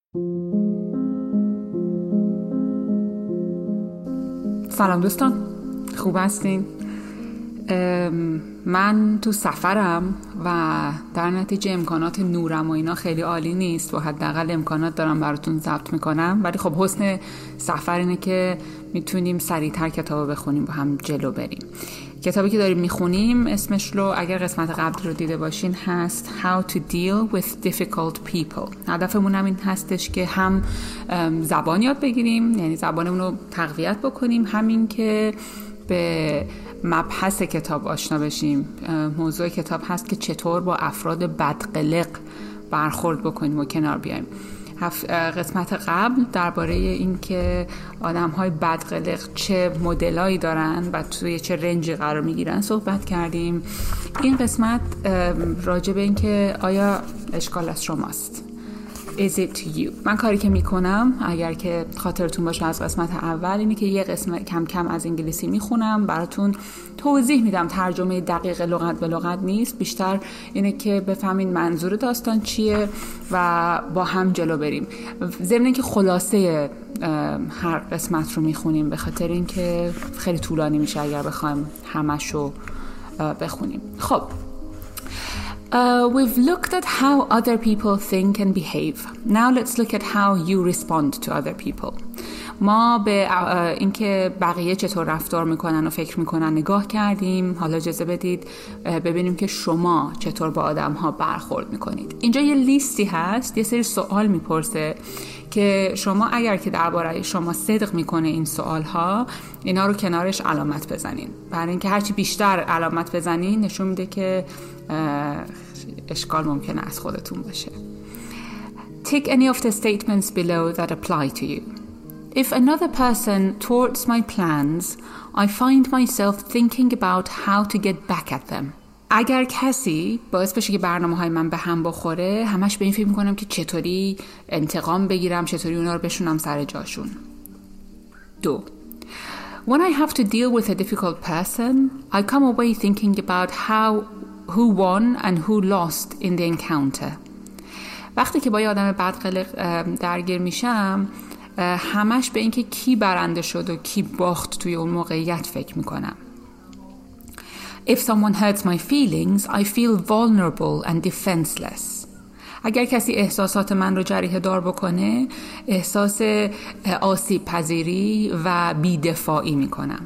سلام دوستان، خوب هستین؟ من تو سفرم و در نتیجه امکانات نورم و اینا خیلی عالی نیست و حداقل امکانات دارم براتون ضبط میکنم، ولی خب حسن سفر اینه که میتونیم سریعتر کتابو بخونیم با هم جلو بریم. کتابی که داریم میخونیم اسمش رو اگر قسمت قبل رو دیده باشین هست How to Deal with Difficult People. هدفمون هم این هستش که هم زبان یاد بگیریم، یعنی زبانمون رو تقویت بکنیم، همین که به مبحث کتاب آشنا بشیم. موضوع کتاب هست که چطور با افراد بدقلق برخورد بکنیم و کنار بیایم. قسمت قبل درباره این که آدم‌های بدقلق چه مدلایی دارن و توی چه رنجی قرار میگیرن صحبت کردیم. این قسمت راجع به این که آیا اشکال از شماست. Is it you؟ من کاری که میکنم اگر که خاطرتون باشه از قسمت اول اینه که یه قسمت کم کم از انگلیسی میخونم، براتون توضیح میدم. ترجمه دقیق لغت به لغت نیست، بیشتر اینه که بفهمین منظور داستان چیه و با هم جلو بریم. ضمن اینکه خلاصه هر قسمت رو میخونیم به خاطر اینکه خیلی طولانی میشه اگر بخوایم همشو بخونیم. خب we've looked at how other people think and behave. Now let's look at how you respond to other people. ما به اینکه بقیه چطور رفتار میکنن و فکر میکنن نگاه کردیم. حالا اجازه بدید ببینیم که شما چطور با آدم ها برخورد میکنید. اینجا یه لیستی هست، یه سری سوال میپرسه که شما اگر که درباره شما صدق میکنه این سوال ها، اینا رو کنارش علامت بزنین. برای اینکه هرچی بیشتر علامت بزنین نشون میده که اشکال ممکنه از خودتون باشه. Tick any of the statements below that apply to you. If another person thwarts my plans, I find myself thinking about how to get back at them. اگر کسی باعث بشه که برنامه‌های من به هم بخوره، همش به این فکر می‌کنم که چطوری انتقام بگیرم، چطوری اونا رو بشونم سر جاشون. 2. When I have to deal with a difficult person, I come away thinking about who won and who lost in the encounter. وقتی که با یه آدم بدقلق درگیر میشم، همش به این که کی برنده شد و کی باخت توی اون موقعیت فکر میکنم. If someone hurts my feelings, I feel vulnerable and defenseless. اگر کسی احساسات من رو جریحه دار بکنه، احساس آسیب پذیری و بی‌دفاعی میکنم.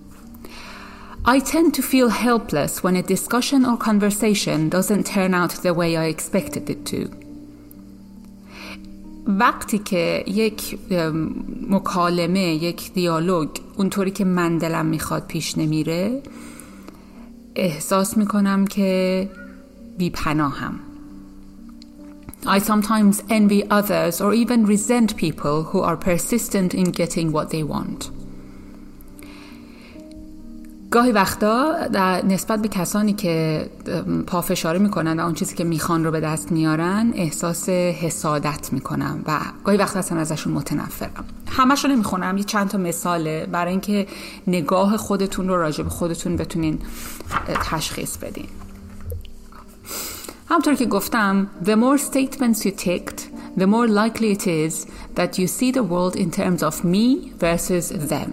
I tend to feel helpless when a discussion or conversation doesn't turn out the way I expected it to. وقتی که یک مکالمه، یک دیالوگ اونطوری که من دلم میخواد پیش نمیره، احساس میکنم که بی‌پناهم. I sometimes envy others or even resent people who are persistent in getting what they want. گاهی وقتا نسبت به کسانی که پافشاری میکنن و اون چیزی که میخوان رو به دست میارن احساس حسادت میکنم و گاهی وقتا اصلا ازشون متنفرم. همش رو نمیخونم، یه چند تا مثاله برای اینکه نگاه خودتون رو راجع به خودتون بتونین تشخیص بدین. همونطور که گفتم the more statements you ticked, the more likely it is that you see the world in terms of me versus them.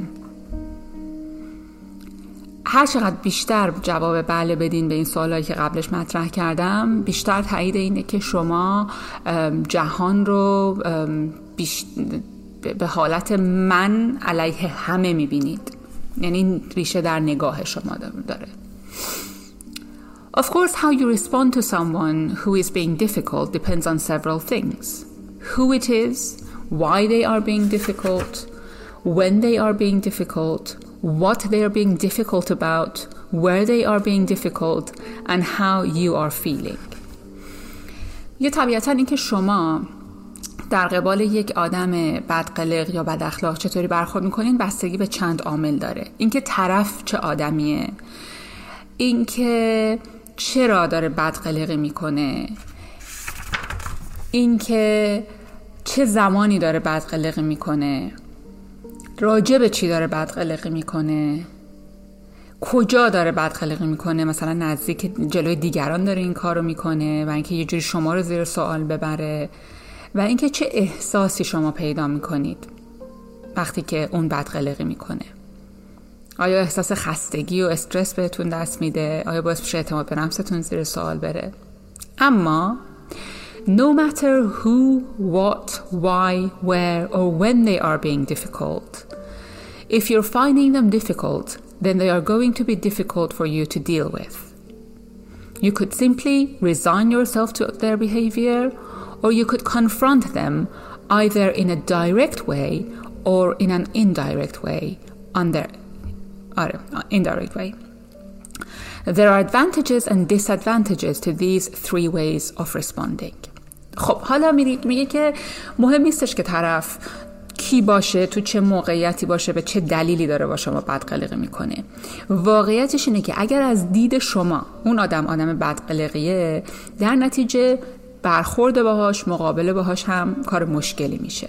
هر چقدر بیشتر جواب بله بدین به این سوالایی که قبلش مطرح کردم، بیشتر تایید اینه که شما جهان رو به حالت من علیه همه میبینید. یعنی ریشه در نگاه شما داره. Of course, how you respond to someone who is being difficult depends on several things. Who it is, why they are being difficult, when they are being difficult, what they are being difficult about, where they are being difficult, and how you are feeling. یه طبیعتاً این که شما در قبال یک آدم بدقلق یا بد اخلاق چطوری برخورد میکنین بستگی به چند عامل داره. اینکه طرف چه آدمیه، اینکه چرا داره بدقلقی میکنه، اینکه چه زمانی داره بدقلقی میکنه، راجع به چی داره بدقلقی میکنه، کجا داره بدقلقی میکنه، مثلا نزدیک جلوی دیگران داره این کارو میکنه و اینکه یه جوری شما رو زیر سوال ببره، و اینکه چه احساسی شما پیدا میکنید وقتی که اون بدقلقی میکنه. آیا احساس خستگی و استرس بهتون دست میده؟ آیا باعث میشه اعتماد به نفستون زیر سوال بره؟ اما no matter who, what, why, where or when they are being difficult, if you're finding them difficult, then they are going to be difficult for you to deal with. You could simply resign yourself to their behavior, or you could confront them either in a direct way or in an indirect way. Indirect way. There are advantages and disadvantages to these three ways of responding. خب حالا میگه که مهم نیستش که طرف کی باشه، تو چه موقعیتی باشه، به چه دلیلی داره با شما بدقلقی میکنه. واقعیتش اینه که اگر از دید شما اون آدم بدقلقیه، در نتیجه برخورد باهاش، مقابله باهاش هم کار مشکلی میشه.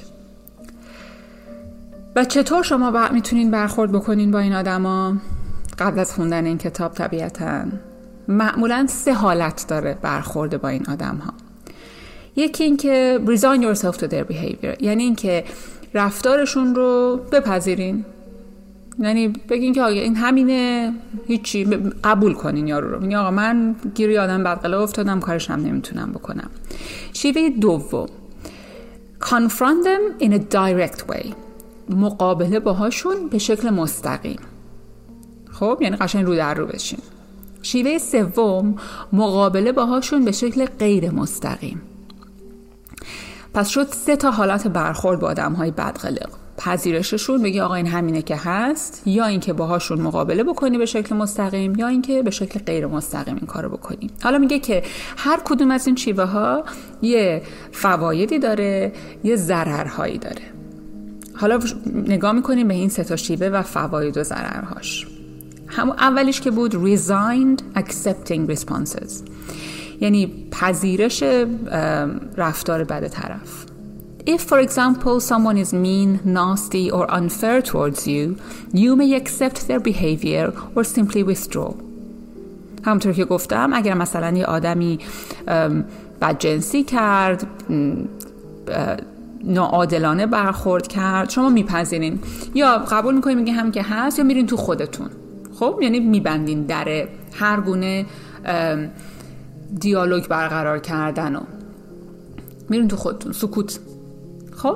و چطور شما میتونین برخورد بکنین با این آدما؟ قبل از خوندن این کتاب طبیعتاً معمولاً 3 حالت داره برخورد با این آدم‌ها. یکی این که resign yourself to their behavior، یعنی این که رفتارشون رو بپذیرین، یعنی بگین که آقا این همینه، هیچی، قبول کنین یارو رو. میگه آقا من گیری آدم بدقلق افتادم، کارش هم نمیتونم بکنم. شیوه دوم confront them in a direct way، مقابله باهاشون به شکل مستقیم. خب یعنی قشنگ رو در رو بشین. شیوه سوم مقابله باهاشون به شکل غیر مستقیم. پس شد 3 تا حالت برخورد با آدم‌های بدقلق. پذیرششون، بگی آقا این همینه که هست، یا اینکه باهاشون مقابله بکنی به شکل مستقیم، یا اینکه به شکل غیر مستقیم این کارو بکنی. حالا میگه که هر کدوم از این شیوه ها یه فوایدی داره، یه ضررهایی داره. حالا نگاه میکنیم به این 3 تا شیوه و فواید و ضررهاش. همون اولیش که بود resigned accepting responses، یعنی پذیرش رفتار بد طرف. If for example someone is mean, nasty or unfair towards you, you may accept their behavior or simply withdraw. همونطور که گفتم اگر مثلا یه آدمی بدجنسی کرد، ناعادلانه برخورد کرد، شما میپذیرین یا قبول میکنین، میگه هم که هست، یا میرین تو خودتون. خب یعنی میبندین در هر گونه دیالوگ برقرار کردن و میرین تو خودتون، سکوت. خب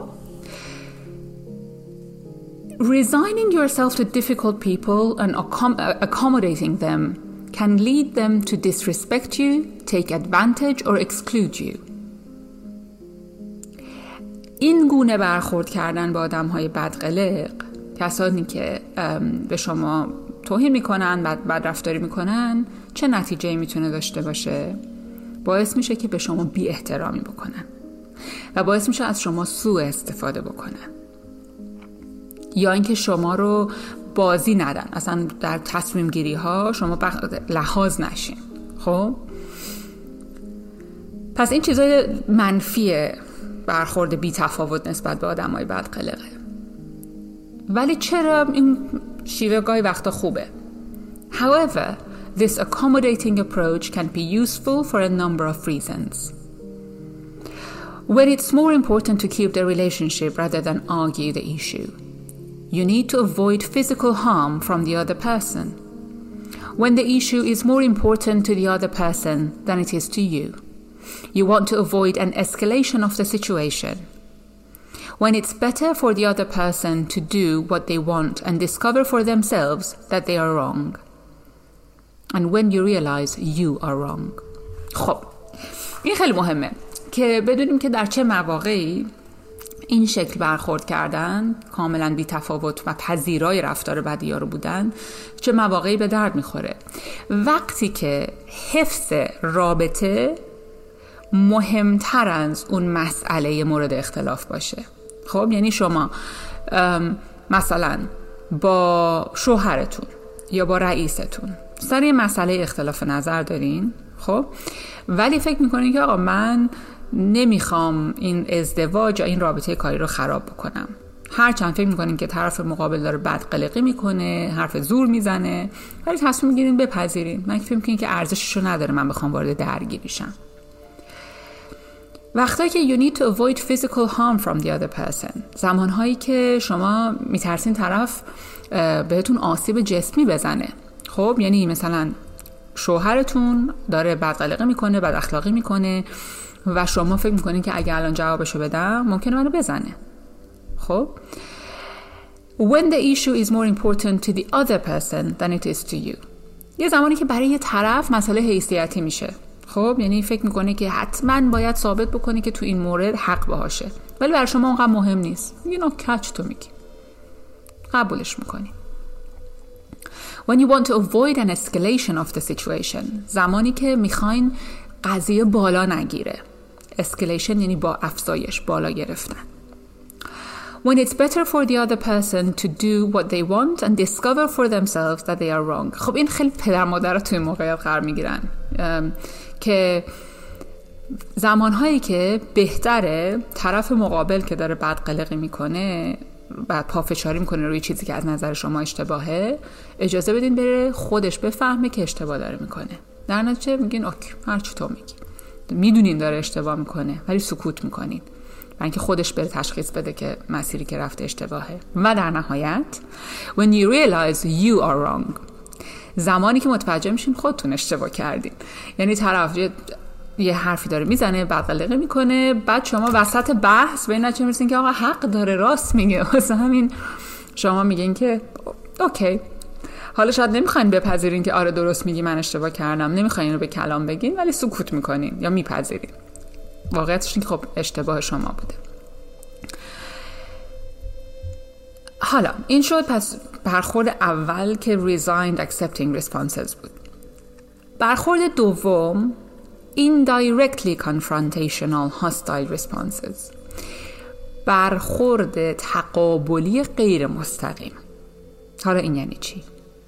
resigning yourself to difficult people and accommodating them can lead them to disrespect you, take advantage or exclude you. این گونه برخورد کردن با آدم‌های بدقلق، کسانی که به شما توهین میکنن، بد رفتاری میکنن، چه نتیجه‌ای میتونه داشته باشه؟ باعث میشه که به شما بی احترامی بکنن و باعث میشه از شما سوء استفاده بکنن، یا اینکه شما رو بازی ندن، اصلا در تصمیم گیری ها شما لحاظ نشین. خب پس این چیزای منفیه برخورد بی تفاوت نسبت به آدمای بدقلقه. ولی چرا این شیوه گاهی وقتا خوبه؟ However, this accommodating approach can be useful for a number of reasons. When it's more important to keep the relationship rather than argue the issue, you need to avoid physical harm from the other person. When the issue is more important to the other person than it is to you, you want to avoid an escalation of the situation. When it's better for the other person to do what they want and discover for themselves that they are wrong. And when you realize you are wrong. خب این خیلی مهمه که بدونیم که در چه مواقعی این شکل برخورد کردن، کاملا بی تفاوت و پذیرای رفتار بدی ها رو بودن، چه مواقعی به درد میخوره. وقتی که حفظ رابطه مهمتر از اون مسئله مورد اختلاف باشه. خب یعنی شما مثلا با شوهرتون یا با رئیستون سر یه مسئله اختلاف نظر دارین، خب ولی فکر میکنین که آقا من نمیخوام این ازدواج یا این رابطه کاری رو خراب بکنم، هرچند فکر میکنین که طرف مقابل داره بدقلقی میکنه، حرف زور میزنه، ولی تصمیم میگیرین بپذیرین. من فکر میکنین که ارزششو نداره من بخوام وارد درگیری شم. وقتایی که you need to avoid physical harm from the other person، زمانهایی که شما میترسین طرف بهتون آسیب جسمی بزنه. خب یعنی مثلا شوهرتون داره بدقلقه میکنه، بد اخلاقی میکنه و شما فکر میکنین که اگه الان جوابشو بدم ممکنه منو بزنه. خب when the issue is more important to the other person than it is to you، یه زمانی که برای یه طرف مسئله حیثیتی میشه. خب یعنی فکر میکنه که حتما باید ثابت بکنه که تو این مورد حق باشه، ولی برای شما اونقدر مهم نیست. میگی نو کچ، تو میگی قبولش میکنی. when you want to avoid an escalation of the situation، زمانی که میخواین قضیه بالا نگیره. escalation یعنی با افزایش، بالا گرفتن. when it's better for the other person to do what they want and discover for themselves that they are wrong. خب این خیلی پدر مادرها توی موقعیت قرار میگیرن که زمانهایی که بهتره طرف مقابل که داره بدقلقی میکنه، بعد پافشاری میکنه روی چیزی که از نظر شما اشتباهه، اجازه بدین بره خودش بفهمه که اشتباه داره میکنه. در نتیجه میگین اوکی هر چی تو میگی، میدونین داره اشتباه میکنه ولی سکوت میکنین و اینکه خودش بره تشخیص بده که مسیری که رفته اشتباهه. و در نهایت when you realize you are wrong، زمانی که متوجه میشین خودتون اشتباه کردین. یعنی طرف یه حرفی داره میزنه، بدقلقه میکنه، بعد شما وسط بحث به این نتیجه میرسین که آقا حق داره، راست میگه، واسه همین شما میگین که اوکی. حالا شاید نمیخواین بپذیرین که آره درست میگی من اشتباه کردم، نمیخواین رو به کلام بگین ولی سکوت میکنین یا میپذیرین واقعیتش این که خب اشتباه شما بوده. حالا این شد پس برخورد اول که resigned accepting responses بود. برخورد دوم indirectly confrontational hostile responses، برخورد تقابلی غیر مستقیم. حالا این یعنی چی؟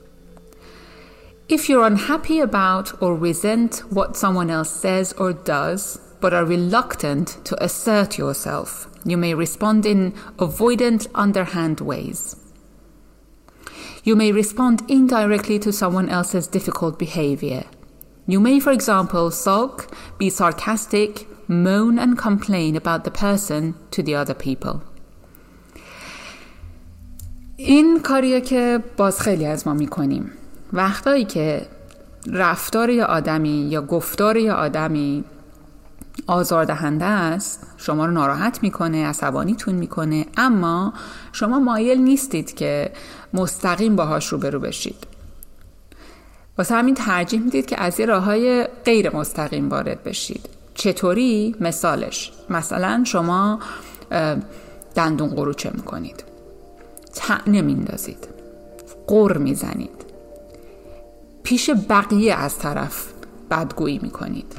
If you're unhappy about or resent what someone else says or does but are reluctant to assert yourself, you may respond in avoidant, underhand ways. You may respond indirectly to someone else's difficult behavior. You may, for example, sulk, be sarcastic, moan and complain about the person to the other people. این کاریه که باز خیلی از ما میکنیم. وقتایی که رفتار یه آدمی یا گفتار یه آدمی آزاردهنده است، شما رو ناراحت میکنه، عصبانیتون میکنه، اما شما مایل نیستید که مستقیم باهاش روبرو بشید. واسه همین ترجیح میدید که از یه راههای غیر مستقیم وارد بشید. چطوری؟ مثلا شما دندون قروچه میکنید، طعنه میندازید، غر میزنید، پیش بقیه از طرف بدگویی میکنید.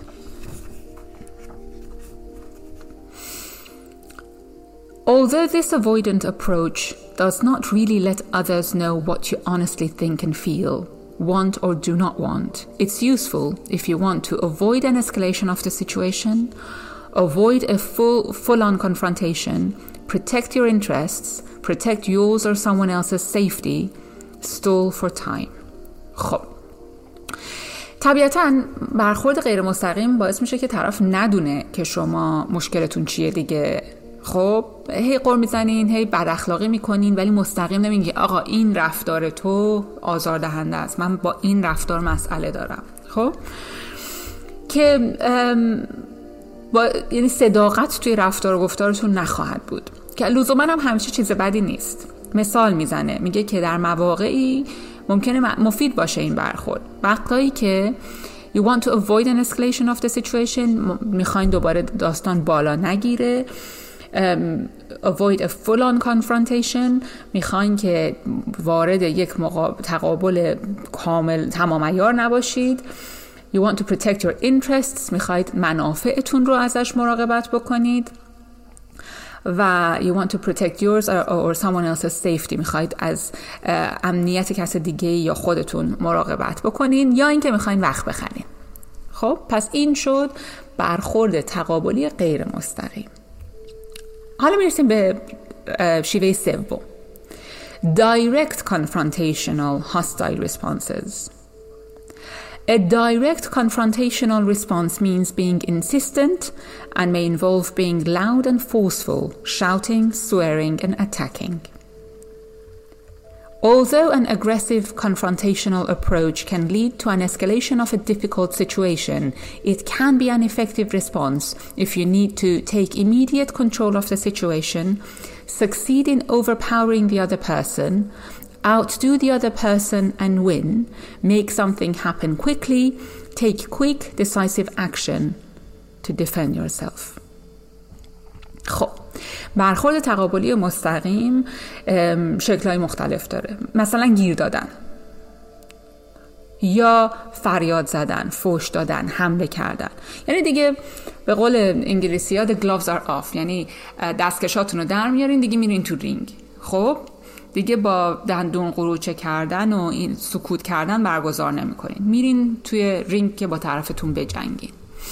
Although this avoidant approach does not really let others know what you honestly think and feel, want or do not want, it's useful if you want to avoid an escalation of the situation, avoid a full-on confrontation, protect your interests, protect yours or someone else's safety, stall for time. خب طبیعتاً برخورد غیر مستقیم باعث میشه که طرف ندونه که شما مشکلتون چیه دیگه. خب هی قر میزنین، هی بد اخلاقی میکنین، ولی مستقیم نمیگی آقا این رفتار تو آزاردهنده است، من با این رفتار مسئله دارم. خب که یعنی صداقت توی رفتار و گفتارتون نخواهد بود که لزوما هم همیشه چیز بدی نیست. مثال میزنه، میگه که در مواقعی ممکنه مفید باشه این برخورد. وقتایی که you want to avoid an escalation of the situation، میخواین دوباره داستان بالا نگیره. avoid a full-on confrontation، میخواین که وارد یک تقابل کامل تمام عیار نباشید. you want to protect your interests، میخواید منافعتون رو ازش مراقبت بکنید. و you want to protect yours or someone else's safety، میخواید از امنیت کس دیگه یا خودتون مراقبت بکنین، یا اینکه میخواین وقت بخرین. خب پس این شد برخورد تقابلی غیر مستقیم. حالا میرسیم به شیوه سوم، direct confrontational hostile responses. A direct confrontational response means being insistent and may involve being loud and forceful, shouting, swearing, and attacking. Although an aggressive confrontational approach can lead to an escalation of a difficult situation, it can be an effective response if you need to take immediate control of the situation, succeed in overpowering the other person, outdo the other person and win, make something happen quickly, take quick, decisive action to defend yourself. خب برخورد تقابلی مستقیم شکل‌های مختلف داره. مثلا گیر دادن یا فریاد زدن، فحش دادن، حمله کردن. یعنی دیگه به قول انگلیسی‌ها the gloves are off، یعنی دستکشاتون رو در میارین، دیگه میرین تو رینگ. خب دیگه با دندون قروچه کردن و این سکوت کردن برگزار نمی‌کنین، میرین توی رینگ که با طرفتون بجنگین،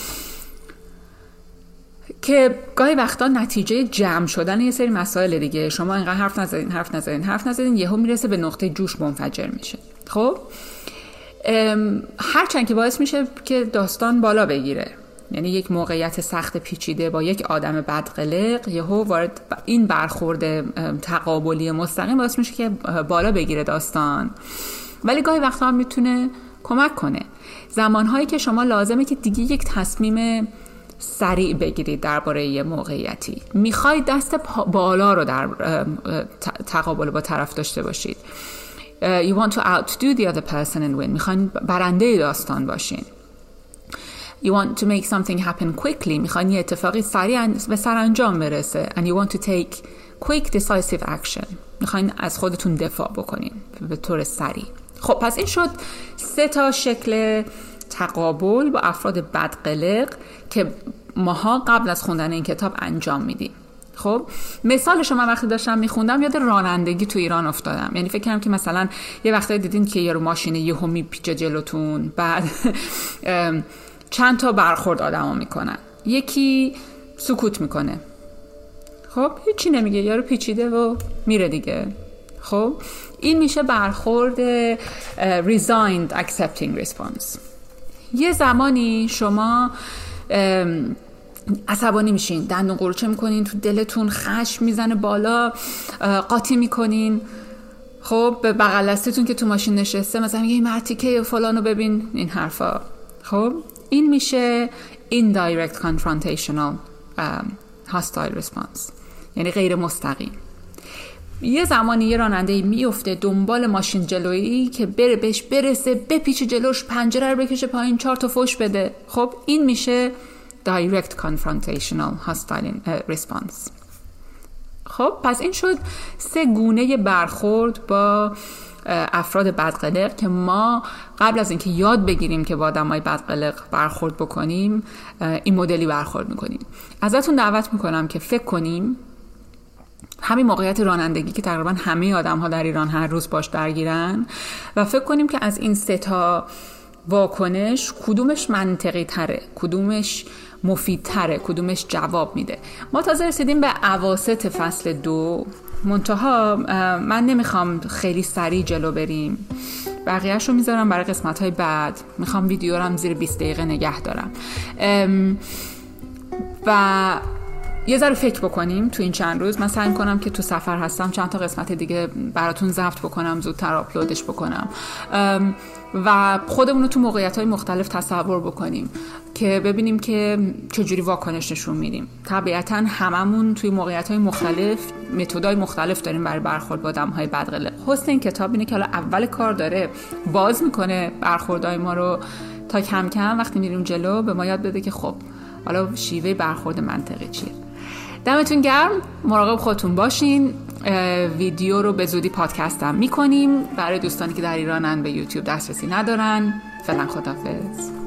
که گاهی وقتا نتیجه جمع شدن یه سری مسائل دیگه. شما اینقدر حرف نزدین یهو میرسه به نقطه جوش منفجر میشه. خب هرچند که باعث میشه که داستان بالا بگیره، یعنی یک موقعیت سخت پیچیده با یک آدم بدقلق یهو وارد این برخورد تقابلی مستقیم باعث میشه که بالا بگیره داستان، ولی گاهی وقتا هم میتونه کمک کنه. زمانهایی که شما لازمه که دیگه یک تصمیم سریع بگیرید درباره یه موقعیتی، میخواید دست بالا رو در تقابل با طرف داشته باشید. You want to outdo the other person and win. میخواین برنده داستان باشین. You want to make something happen quickly. میخواین یه اتفاقی سریع به سرانجام برسه. And you want to take quick decisive action. میخواین از خودتون دفاع بکنین به طور سریع. خب پس این شد 3 شکل تقابل با افراد بدقلق که ماها قبل از خوندن این کتاب انجام میدیم. خب مثالش من وقتی داشتم میخوندم یاد رانندگی تو ایران افتادم. یعنی فکر کنم که مثلا یه وقتایی دیدین که یارو ماشینه یهو میپیچه جلوتون، بعد چند تا برخورد آدما میکنن، یکی سکوت میکنه، خب هیچی نمیگه، یارو پیچیده و میره دیگه. خب این میشه برخورد resigned accepting response. یه زمانی شما عصبانی میشین، دندون قروچه میکنین، تو دلتون خشم میزنه بالا، قاطی میکنین. خب به بغل دستتون که تو ماشین نشسته مثلا میگه این مرتیکه فلانو ببین، این حرفا. خب این میشه indirect confrontational hostile response، یعنی غیر مستقیم. یه زمانی یه راننده میفته دنبال ماشین جلویی که بهش برسه، بپیچه جلوش، پنجره رو بکشه پایین، 4 تا فحش بده. خب این میشه direct confrontational hostile response. خب پس این شد 3 گونه برخورد با افراد بدقلق که ما قبل از اینکه یاد بگیریم که با آدمای بدقلق برخورد بکنیم این مدلی برخورد میکنیم. ازتون دعوت میکنم که فکر کنیم همین موقعیت رانندگی که تقریبا همه آدم‌ها در ایران هر روز باش درگیرن و فکر کنیم که از این 3 واکنش کدومش منطقی تره، کدومش مفید تره، کدومش جواب میده. ما تازه رسیدیم به اواسط فصل 2، منتها من نمیخوام خیلی سریع جلو بریم، بقیه‌شو میذارم برای قسمت‌های بعد. میخوام ویدیو رو هم زیر 20 دقیقه نگه دارم و یه ذره فکر بکنیم تو این چند روز. من سعی کنم که تو سفر هستم چند تا قسمت دیگه براتون ضبط بکنم، زودتر آپلودش بکنم و خودمون رو تو موقعیت‌های مختلف تصور بکنیم که ببینیم که چجوری واکنش نشون میدیم. طبیعتاً هممون توی موقعیت‌های مختلف متدای مختلف داریم برای برخورد با آدم‌های بدقلق. حسن این کتاب اینه که حالا اول کار داره باز میکنه برخوردهای ما رو تا کم کم وقتی میریم جلو به ما یاد بده که خب حالا شیوه برخورد منطقی چیه. دمتون گرم، مراقب خودتون باشین. ویدیو رو به زودی پادکست هم میکنیم برای دوستانی که در ایرانن به یوتیوب دسترسی ندارن. فعلا خداحافظ.